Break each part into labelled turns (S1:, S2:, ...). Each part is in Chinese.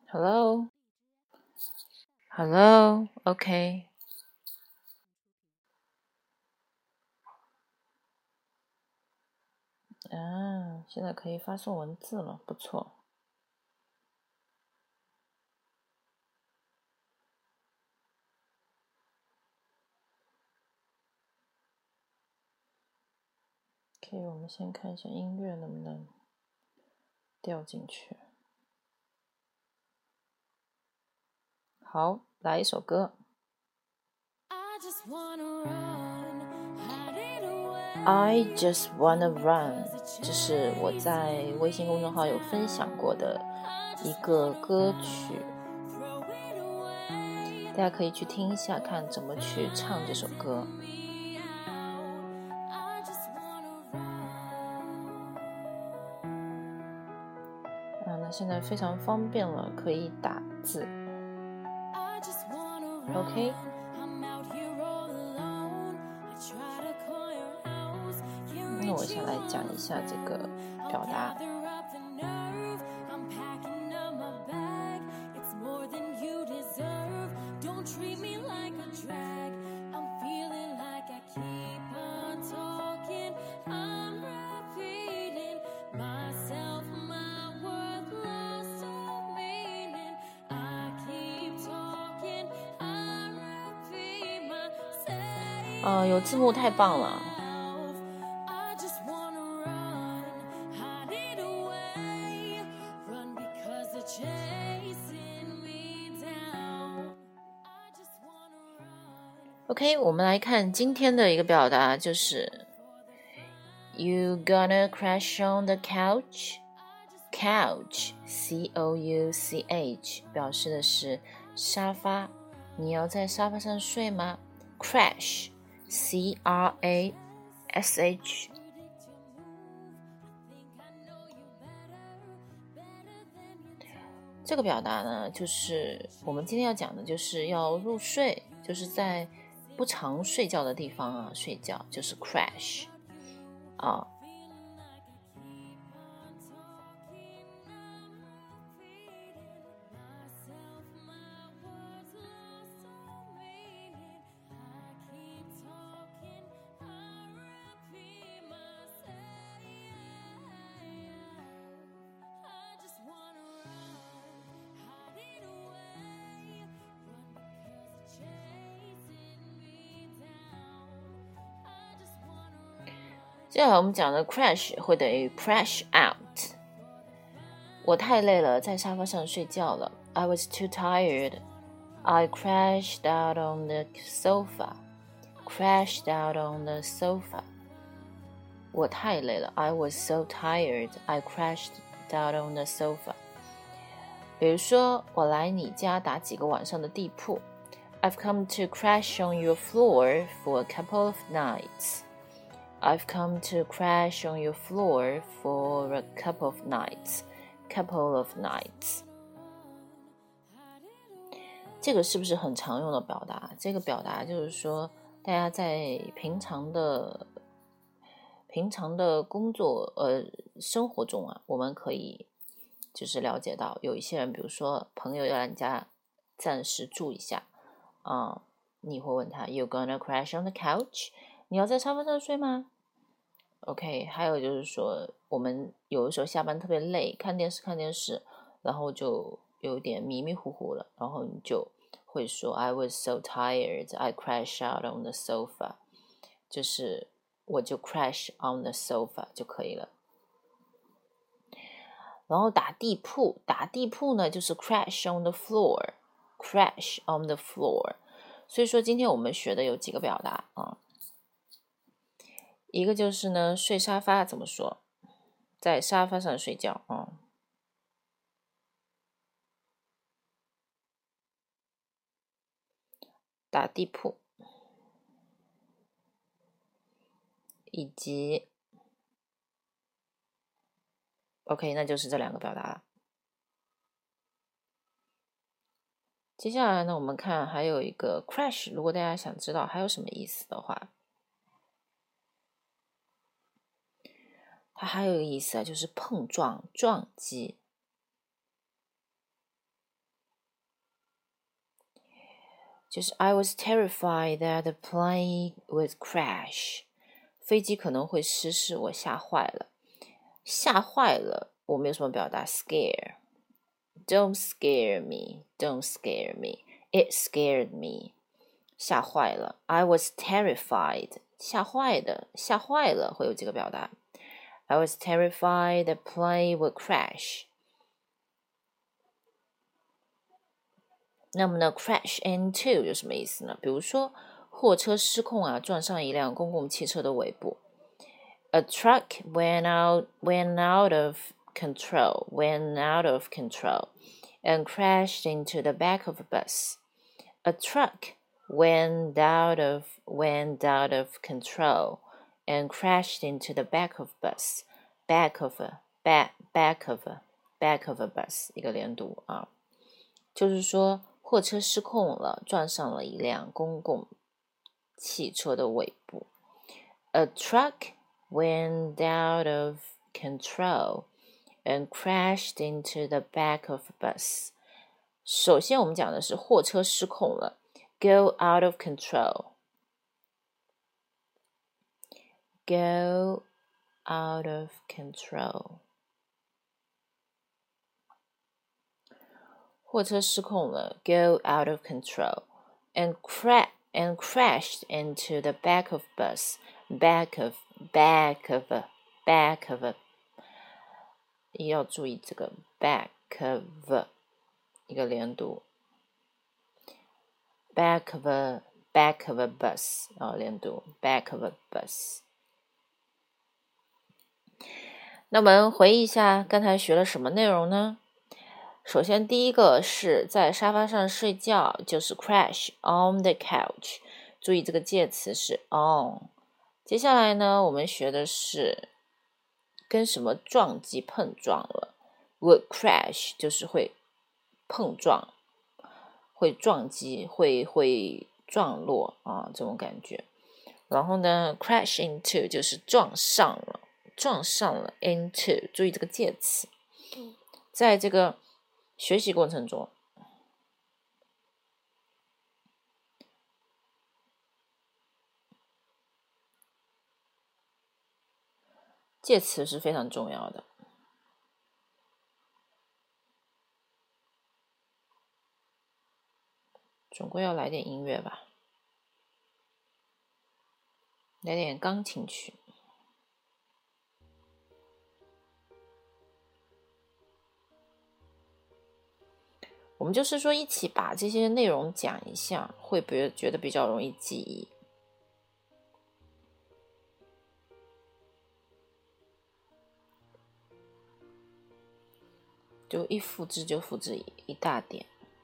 S1: Hello, Hello, OK。现在可以发送文字了，不错。OK，我们先看一下音乐能不能调进去。好，来一首歌。I just wanna run， 这是我在微信公众号有分享过的一个歌曲，大家可以去听一下，看怎么去唱这首歌。那现在非常方便了，可以打字。OK。那我先来讲一下这个表达。有字幕太棒了。OK， 我们来看今天的一个表达，就是 You gonna crash on the couch? Couch, C-O-U-C-H 表示的是沙发，你要在沙发上睡吗？ Crash, C-R-A-S-H 这个表达呢，就是我们今天要讲的，就是要入睡，就是在不常睡觉的地方睡觉，就是 crash 接下来我们讲的 crash 会等于 crash out。 我太累了，在沙发上睡觉了。 I was too tired. I crashed out on the sofa. Crashed out on the sofa. 我太累了， I was so tired. I crashed out on the sofa. 比如说，我来你家打几个晚上的地铺。 I've come to crash on your floor for a couple of nights.I've come to crash on your floor for a couple of nights. Couple of nights. 这个是不是很常用的表达？这个表达就是说，大家在平常的工作生活中我们可以就是了解到，有一些人，比如说朋友要来你家暂时住一下你会问他 You gonna crash on the couch?你要在沙发上睡吗 ？OK， 还有就是说，我们有的时候下班特别累，看电视，然后就有点迷迷糊糊了，然后你就会说 I was so tired, I crashed out on the sofa， 就是我就 crash on the sofa 就可以了。然后打地铺呢就是 crash on the floor， crash on the floor。所以说今天我们学的有几个表达一个就是呢，睡沙发怎么说？在沙发上睡觉打地铺，以及 OK， 那就是这两个表达了。接下来呢，我们看还有一个 crash， 如果大家想知道还有什么意思的话，它还有一个意思就是碰撞、撞击。 就是 I was terrified that the plane would crash. 飞机可能会失事，我吓坏了。吓坏了，我们有什么表达 ？Scare. Don't scare me. Don't scare me. It scared me. 吓坏了。I was terrified. 吓坏的，吓坏了，会有几个表达。I was terrified the plane would crash. 那么呢 ，crash into 有什么意思呢？比如说，货车失控啊，撞上一辆公共汽车的尾部。A truck went out of control, and crashed into the back of a bus. A truck went out of control and crashed into the back of a bus. Back of a bus 一个连读啊，就是说货车失控了，撞上了一辆公共汽车的尾部。A truck went out of control and crashed into the back of a bus. 首先我们讲的是货车失控了 go out of control. Go out of control. 货车失控了 go out of control and crashed into the back of bus. Back of 要注意这个 back of 一个连读 back of a bus 连读 back of a bus。 那我们回忆一下刚才学了什么内容呢？首先第一个是在沙发上睡觉，就是 crash on the couch， 注意这个介词是 on。 接下来呢，我们学的是跟什么撞击碰撞了 would crash， 就是会碰撞，会撞击，会撞落啊，这种感觉。然后呢 crash into 就是撞上了 into， 注意这个介词。在这个学习过程中，介词是非常重要的。总归要来点音乐吧，来点钢琴曲。我们就是说一起把这些内容讲一下，会不会觉得比较容易记忆？就一复制就复制一大点。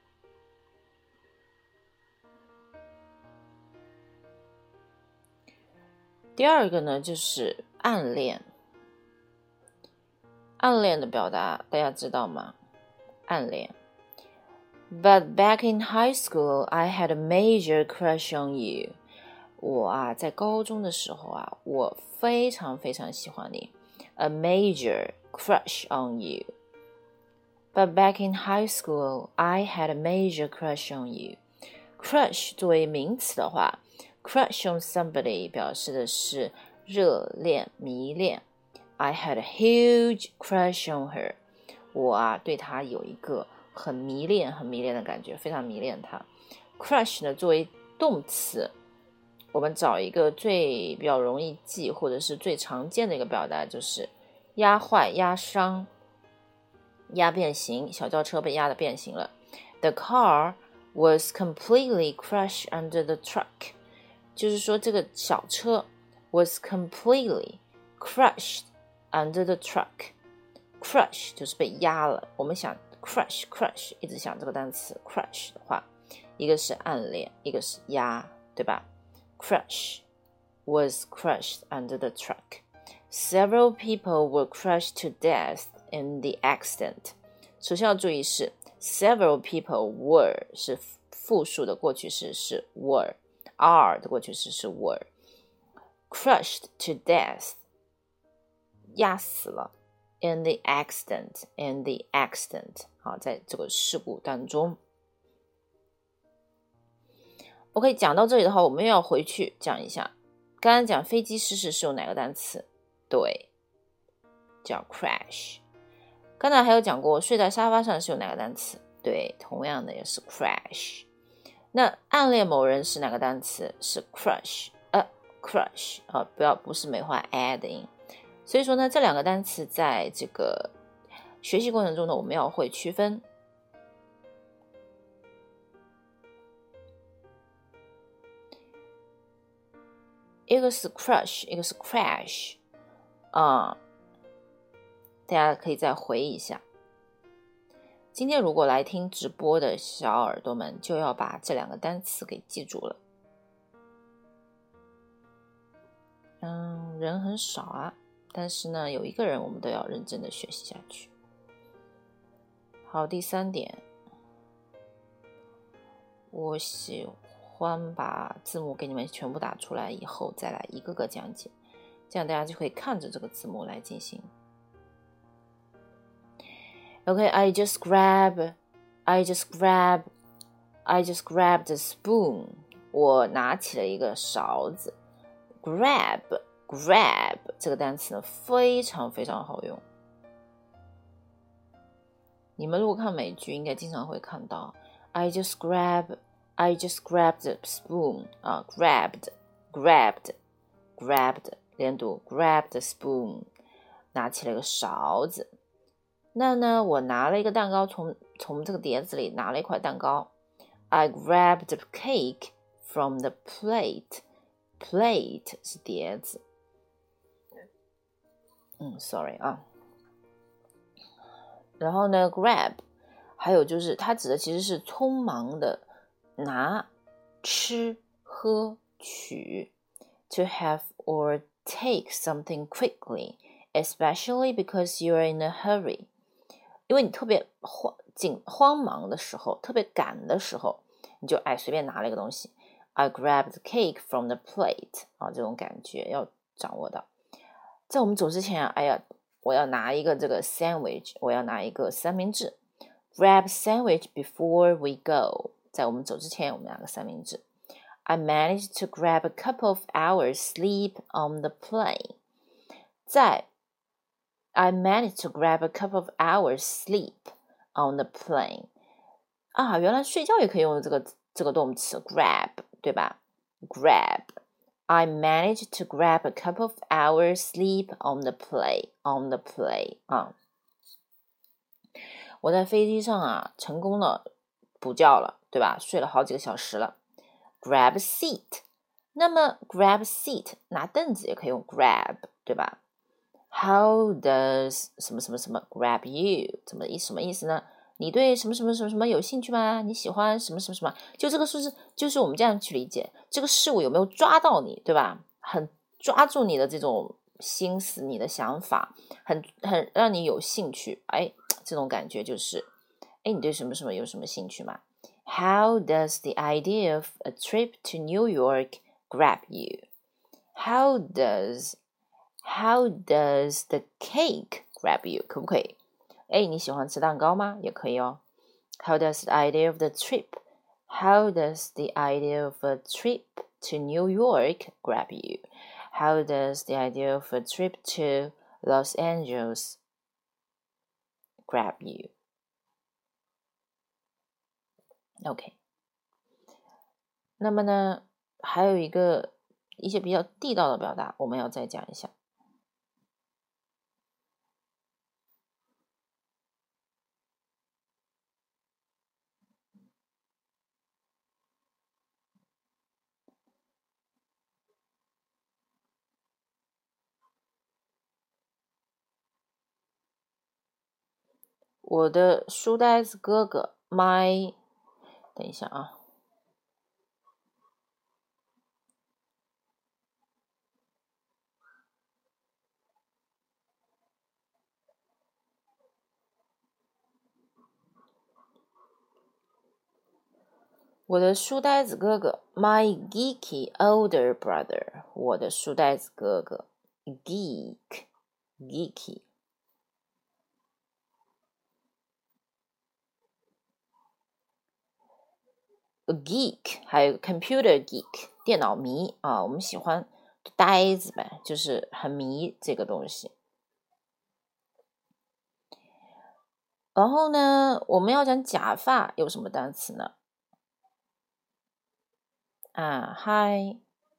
S1: 第二个呢，就是暗恋。暗恋的表达大家知道吗？暗恋。But back in high school, I had a major crush on you. 我在高中的时候我非常非常喜欢你。A major crush on you. But back in high school, I had a major crush on you. Crush 作为名词的话 crush on somebody 表示的是热恋、迷恋。I had a huge crush on her. 我对她有一个很迷恋的感觉，非常迷恋她。Crush 呢，作为动词，我们找一个比较容易记或者是最常见的一个表达，就是压坏、压伤、压变形。小轿车被压得变形了。The car was completely crushed under the truck. 就是说这个小车 was completely crushed under the truck. Crush 就是被压了。我们想 crush 一直想这个单词 crush 的话，一个是暗恋，一个是压，对吧？ Crush was crushed under the truck. Several people were crushed to death in the accident. 首先要注意是 several people were 是复数的过去式是 were， are 的过去式是 were。 Crushed to death 压死了 in the accident 好，在这个事故当中。 OK， 讲到这里的话，我们又要回去讲一下，刚刚讲飞机失事是用哪个单词？对，叫 crash。刚才还有讲过睡在沙发上是用哪个单词？对，同样的也是 crash。那暗恋某人是哪个单词？是 crush。crush 啊，不是梅花 a 的音。所以说呢，这两个单词在这个学习过程中呢，我们要会区分。一个是 crush， 一个是 crash 啊，大家可以再回忆一下。今天如果来听直播的小耳朵们，就要把这两个单词给记住了。人很少啊，但是呢，有一个人我们都要认真的学习下去。好，第3点，我喜欢把字幕给你们全部打出来以后，再来一个个讲解，这样大家就可以看着这个字幕来进行。Okay, I just grabbed the spoon. 我拿起了一个勺子。grab 这个单词呢，非常非常好用。你们如果看美剧，应该经常会看到 I just grabbed the spoon 啊 grabbed 连读 grab the spoon， 拿起了一个勺子。那呢，我拿了一个蛋糕，从这个碟子里拿了一块蛋糕。I grabbed the cake from the plate. Plate 是碟子。sorry 啊。然后呢 grab 还有就是它指的其实是匆忙的拿、吃、喝、取。To have or take something quickly, especially because you're in a hurry. 因为你特别慌忙的时候，特别赶的时候，你就随便拿了一个东西。I grabbed the cake from the plate 啊，这种感觉要掌握到。在我们走之前我要拿一个这个 sandwich， 我要拿一个三明治。Grab sandwich before we go， 在我们走之前，我们拿个三明治。I managed to grab a couple of hours sleep on the plane. I managed to grab a couple of hours sleep on the plane. 啊，原来睡觉也可以用这个动词 grab， 对吧？ Grab. I managed to grab a couple of hours sleep on the plane. 啊，我在飞机上成功的补觉了，对吧？睡了好几个小时了。Grab a seat. 那么 grab seat 拿凳子也可以用 grab， 对吧？ How does 什么什么什么 grab you 什么意思呢？你对什么什么什么什么有兴趣吗？你喜欢什么什么什么？就这个就是我们这样去理解，这个事物有没有抓到你，对吧？很抓住你的这种心思，你的想法，很让你有兴趣。这种感觉就是你对什么什么有什么兴趣吗？ How does the idea of a trip to New York grab you? How does the cake grab you? 可不可以？你喜欢吃蛋糕吗？也可以哦。How does the idea of the trip? How does the idea of a trip to New York grab you? How does the idea of a trip to Los Angeles grab you? OK。那么呢，还有一些比较地道的表达，我们要再讲一下。我的书呆子哥哥 my 等一下啊，我的书呆子哥哥 my geeky older brother， 我的书呆子哥哥 geeky。 geek， 还有 computer geek， 电脑迷啊，我们喜欢呆子呗，就是很迷这个东西。然后呢，我们要讲假发有什么单词呢？Hi，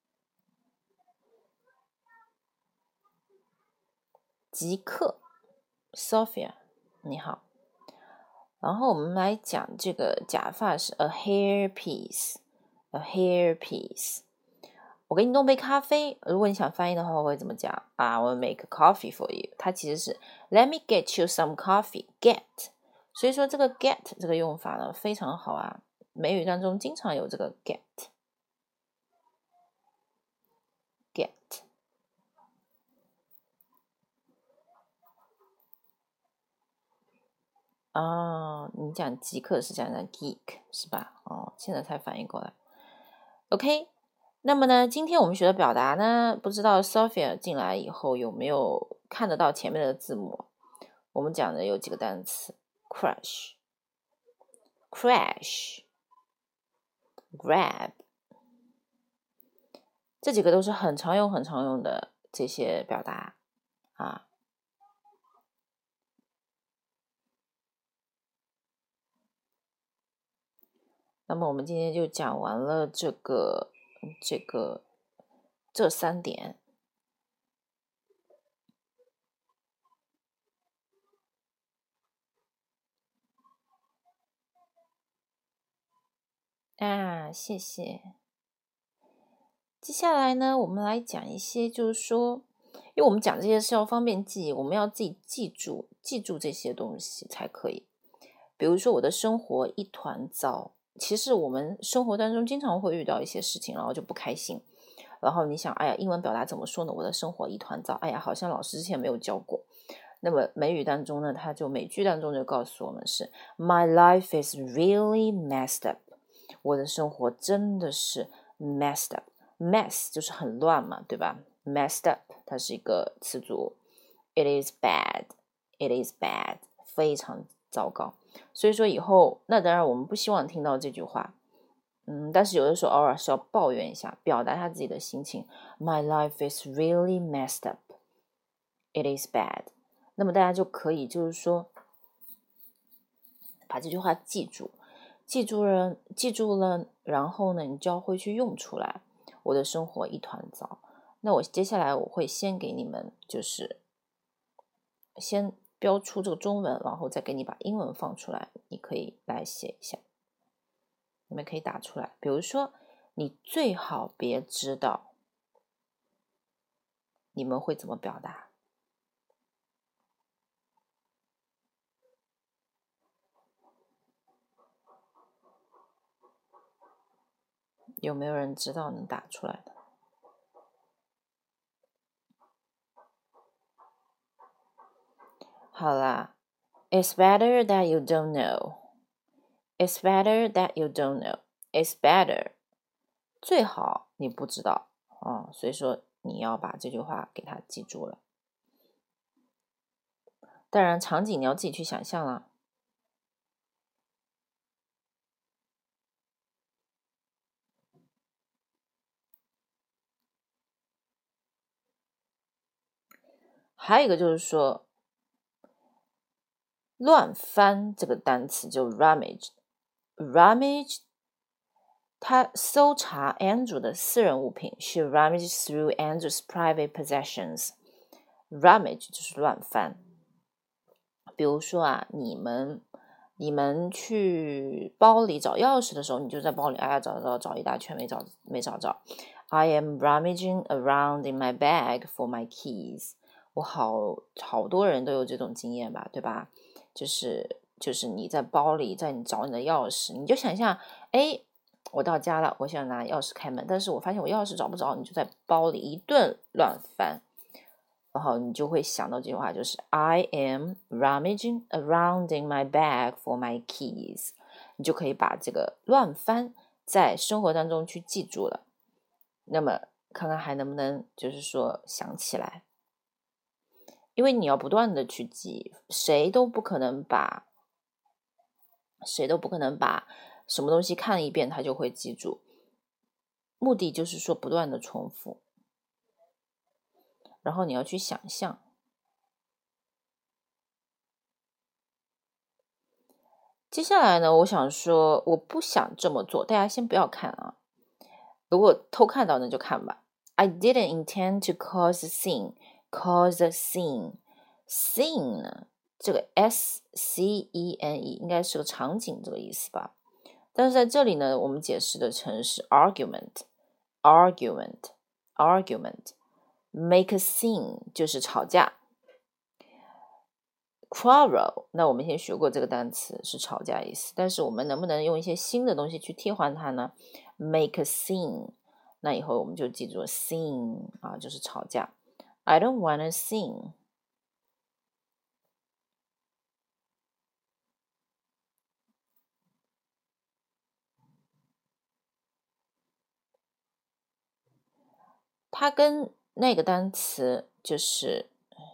S1: 极客 Sophia， 你好。然后我们来讲这个假发是 a hairpiece，a hairpiece。我给你弄杯咖啡，如果你想翻译的话，我会怎么讲？I will make coffee for you。它其实是 Let me get you some coffee。Get， 所以说这个 get 这个用法呢非常好啊，美语当中经常有这个 get。你讲极客是讲 geek 是吧？现在才反应过来。OK， 那么呢，今天我们学的表达呢，不知道 Sophia 进来以后有没有看得到前面的字母？我们讲的有几个单词 ：crash、grab，这几个都是很常用的这些表达啊。那么我们今天就讲完了这3点。谢谢。接下来呢，我们来讲一些，就是说，因为我们讲这些是要方便记忆，我们要自己记住这些东西才可以。比如说，我的生活一团糟。其实我们生活当中经常会遇到一些事情，然后就不开心。然后你想，哎呀，英文表达怎么说呢？我的生活一团糟。哎呀，好像老师之前没有教过。那么美语当中呢，美句当中就告诉我们是 My life is really messed up。我的生活真的是 messed up。mess 就是很乱嘛，对吧？ messed up 它是一个词组。It is bad， it is bad， 非常糟糕。所以说以后，那当然我们不希望听到这句话，但是有的时候偶尔是要抱怨一下，表达一下自己的心情。My life is really messed up， it is bad。那么大家就可以就是说把这句话记住了，然后呢，你就会去用出来。我的生活一团糟。那我接下来我会先给你们，就是先标出这个中文，然后再给你把英文放出来，你可以来写一下，你们可以打出来。比如说，你最好别知道，你们会怎么表达？有没有人知道能打出来的？好啦 ，It's better that you don't know. It's better that you don't know. It's better. 最好你不知道所以说你要把这句话给它记住了。当然，场景你要自己去想象了。还有一个就是说，乱翻这个单词就 rummage， 他搜查 Andrew 的私人物品。She rummaged through Andrew's private possessions。 rummage 就是乱翻。比如说你们去包里找钥匙的时候，你就在包里找一大圈没找着。I am rummaging around in my bag for my keys。 我好多人都有这种经验吧，对吧？就是你在包里，你找你的钥匙，你就想象，我到家了，我想拿钥匙开门，但是我发现我钥匙找不着，你就在包里一顿乱翻。然后你就会想到这句话，就是 I am rummaging around in my bag for my keys。 你就可以把这个乱翻在生活当中去记住了。那么看看还能不能就是说想起来，因为你要不断的去记，谁都不可能把什么东西看一遍他就会记住，目的就是说不断的重复，然后你要去想象。接下来呢，我想说我不想这么做，大家先不要看啊，如果偷看到那就看吧。I didn't intend to cause a scene呢，这个 scene 应该是个场景这个意思吧，但是在这里呢，我们解释的成是 argument make a scene 就是吵架。quarrel 那我们先学过这个单词是吵架意思，但是我们能不能用一些新的东西去替换它呢？ make a scene， 那以后我们就记住 scene 啊，就是吵架。 I don't want a scene。 它跟那个单词就是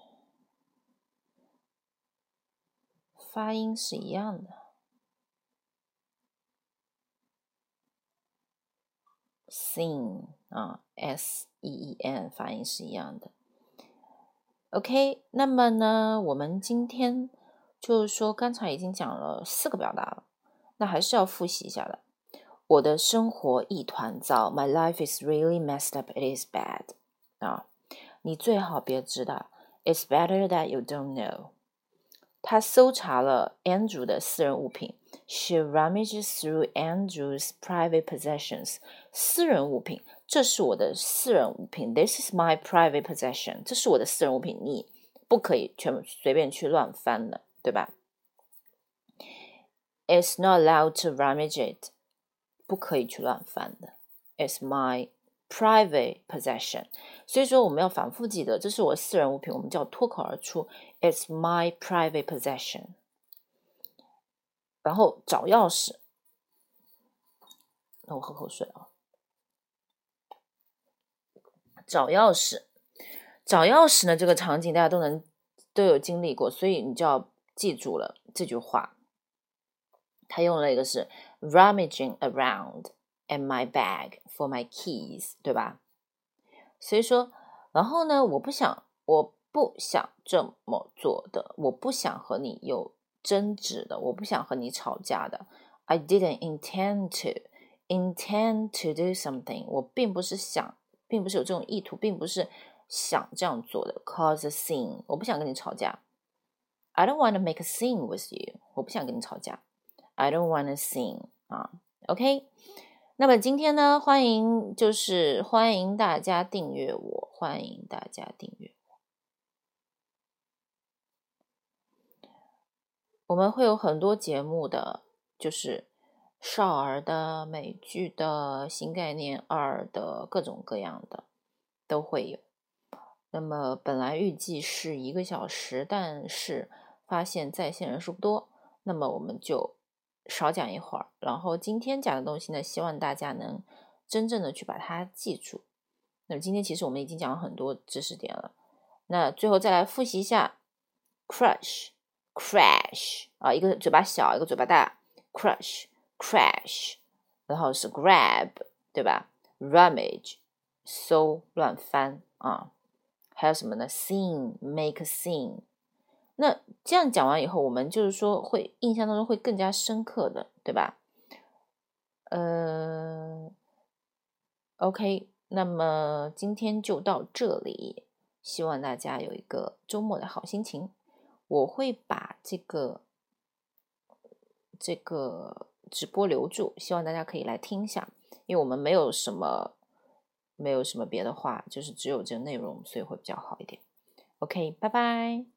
S1: 发音是一样的， scene 啊 S-E-E-N 发音是一样的。 OK， 那么呢我们今天就是说刚才已经讲了4个表达了，那还是要复习一下的。我的生活一团糟， My life is really messed up, it is bad 啊，你最好别知道， It's better that you don't know。 他搜查了 Andrew 的私人物品， She rummages through Andrew's private possessions。 私人物品，这是我的私人物品， This is my private possession， 这是我的私人物品，你不可以随便去乱翻的，对吧？ It's not allowed to rummage it， 不可以去乱翻的， It's my private possession。 所以说我们要反复记得，这是我的私人物品，我们就要脱口而出 It's my private possession。 然后找钥匙，那我喝口水啊。找钥匙呢，这个场景大家都有经历过，所以你就要记住了这句话。他用了一个是 rummaging around in my bag for my keys， 对吧？所以说，然后呢，我不想这么做的，我不想和你有争执的，我不想和你吵架的。I didn't intend to do something， 我并不是有这种意图，并不是想这样做的。Cause a scene， 我不想跟你吵架。I don't want to make a scene with you， 我不想跟你吵架。I don't want a scene 啊 ，OK。那么今天呢，欢迎大家订阅我，欢迎大家订阅我。我们会有很多节目的，就是少儿的、美剧的、新概念2的各种各样的都会有。那么本来预计是1个小时，但是发现在线人数不多，那么我们就少讲一会儿。然后今天讲的东西呢，希望大家能真正的去把它记住。那么今天其实我们已经讲了很多知识点了，那最后再来复习一下 crash 啊，一个嘴巴小，一个嘴巴大 crash， 然后是 grab， 对吧？ rummage 搜乱翻啊，还有什么呢？ scene make a scene。 那这样讲完以后，我们就是说会印象当中会更加深刻的，对吧？OK， 那么今天就到这里，希望大家有一个周末的好心情。我会把这个直播留住，希望大家可以来听一下，因为我们没有什么别的话，就是只有这个内容，所以会比较好一点。OK， 拜拜。